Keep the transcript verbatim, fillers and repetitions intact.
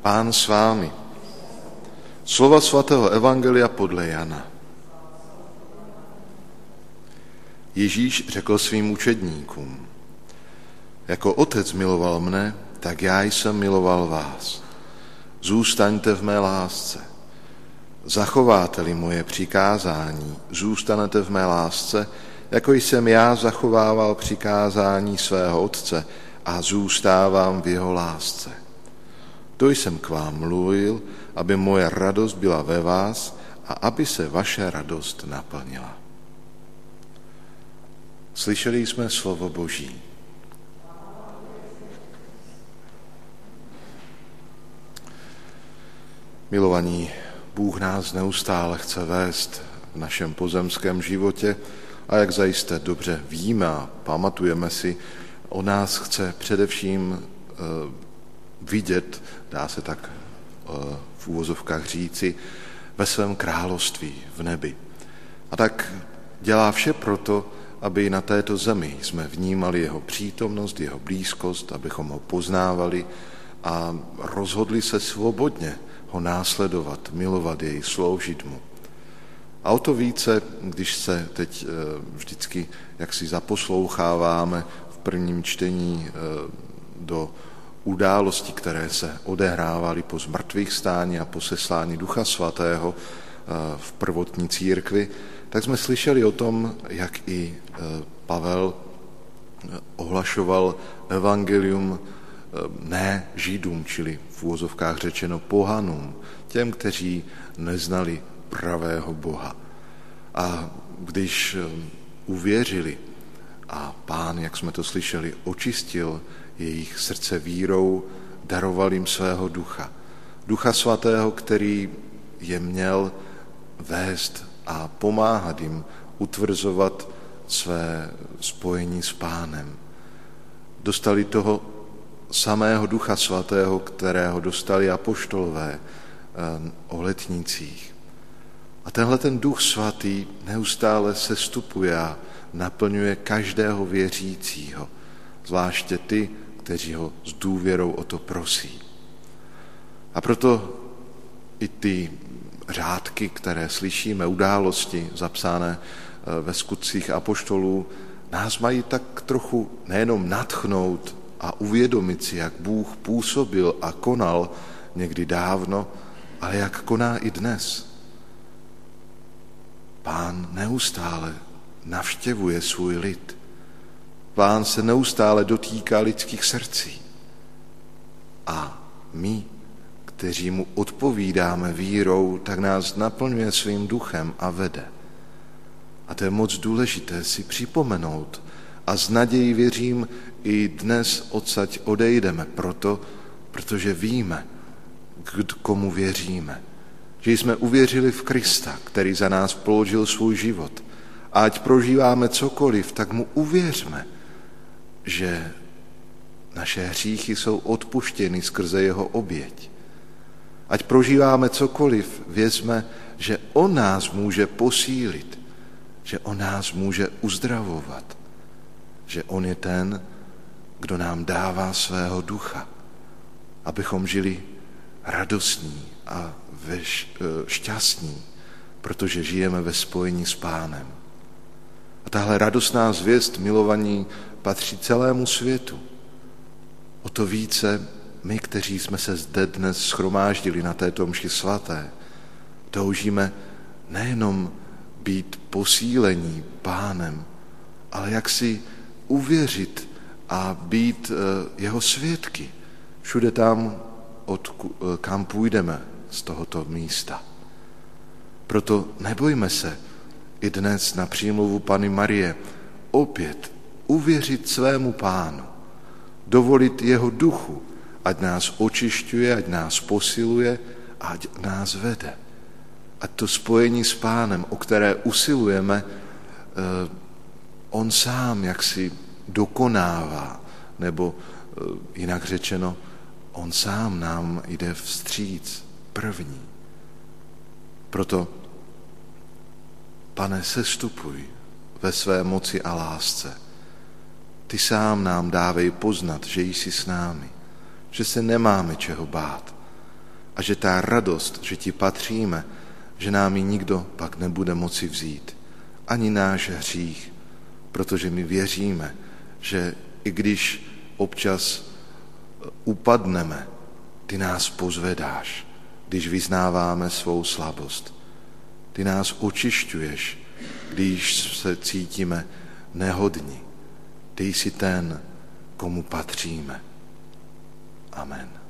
Pán s vámi. Slova svatého evangelia podle Jana. Ježíš řekl svým učedníkům: Jako otec miloval mne, tak já jsem miloval vás. Zůstaňte v mé lásce. Zachováte-li moje přikázání, zůstanete v mé lásce, jako jsem já zachovával přikázání svého otce a zůstávám v jeho lásce. To jsem k vám mluvil, aby moje radost byla ve vás a aby se vaše radost naplnila. Slyšeli jsme slovo Boží. Milovaní, Bůh nás neustále chce vést v našem pozemském životě a jak zajisté dobře víme a pamatujeme si, on nás chce především vidět, dá se tak v úvozovkách říci, ve svém království v nebi. A tak dělá vše proto, aby na této zemi jsme vnímali jeho přítomnost, jeho blízkost, abychom ho poznávali a rozhodli se svobodně ho následovat, milovat jej, sloužit mu. A o to více, když se teď vždycky jaksi zaposloucháváme v prvním čtení do událostí, které se odehrávaly po zmrtvých stání a po seslání Ducha Svatého v prvotní církvi, tak jsme slyšeli o tom, jak i Pavel ohlašoval evangelium ne Židům, čili v úvozovkách řečeno pohanům, těm, kteří neznali pravého Boha. A když uvěřili a Pán, jak jsme to slyšeli, očistil jejich srdce vírou, daroval jim svého ducha. Ducha Svatého, který je měl vést a pomáhat jim utvrzovat své spojení s Pánem. Dostali toho samého Ducha Svatého, kterého dostali apoštolové o letnicích. A tenhle ten Duch Svatý neustále sestupuje a naplňuje každého věřícího, zvláště ty, kteří ho s důvěrou o to prosí. A proto i ty řádky, které slyšíme, události zapsané ve skutcích apoštolů, nás mají tak trochu nejenom nadchnout a uvědomit si, jak Bůh působil a konal někdy dávno, ale jak koná i dnes. Pán neustále navštěvuje svůj lid. Pán se neustále dotýká lidských srdcí. A my, kteří mu odpovídáme vírou, tak nás naplňuje svým duchem a vede. A to je moc důležité si připomenout. A s nadějí věřím, i dnes odsaď odejdeme proto, protože víme, k komu věříme. Že jsme uvěřili v Krista, který za nás položil svůj život. A ať prožíváme cokoliv, tak mu uvěřme, že naše hříchy jsou odpuštěny skrze jeho oběť. Ať prožíváme cokoliv, věřme, že on nás může posílit, že on nás může uzdravovat, že on je ten, kdo nám dává svého ducha, abychom žili radostní a šťastní, protože žijeme ve spojení s Pánem. A tahle radostná zvěst, milovaní, patří celému světu. O to více my, kteří jsme se zde dnes shromáždili na této mši svaté, toužíme nejenom být posílení Pánem, ale jak si uvěřit a být jeho svědky všude tam, od, kam půjdeme z tohoto místa. Proto nebojme se i dnes na přímluvu Panny Marie opět uvěřit svému Pánu, dovolit jeho duchu, ať nás očišťuje, ať nás posiluje, ať nás vede. Ať to spojení s Pánem, o které usilujeme, on sám jaksi dokonává, nebo jinak řečeno, on sám nám jde vstříc první. Proto, Pane, sestupuj ve své moci a lásce. Ty sám nám dávej poznat, že jsi s námi, že se nemáme čeho bát, a že ta radost, že ti patříme, že nám ji nikdo pak nebude moci vzít. Ani náš hřích, protože my věříme, že i když občas upadneme, ty nás pozvedáš, když vyznáváme svou slabost. Ty nás očišťuješ, když se cítíme nehodní. Ty jsi ten, komu patříme. Amen.